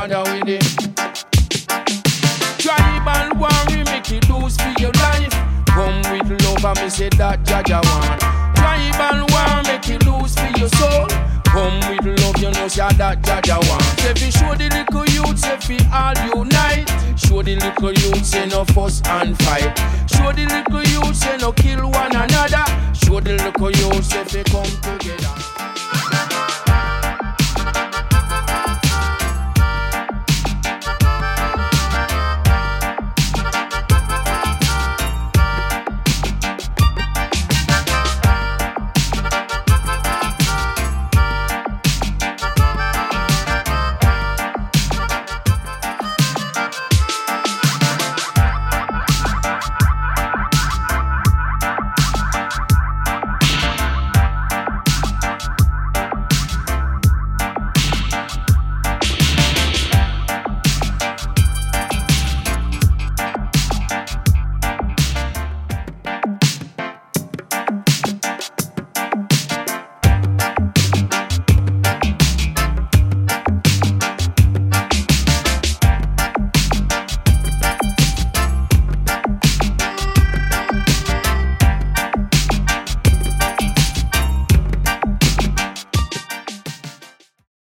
bother with it. Tribal war, we make it lose for your life. Come with love and me say that Jaja want. Tribal war, make it lose for your soul. Come with love, you know say that Jaja want. Say fi show the little youth, say fi all unite. Show the little youth, say no fuss and fight. Show the little youth, say no kill one another. Show the little youth, say fi come together.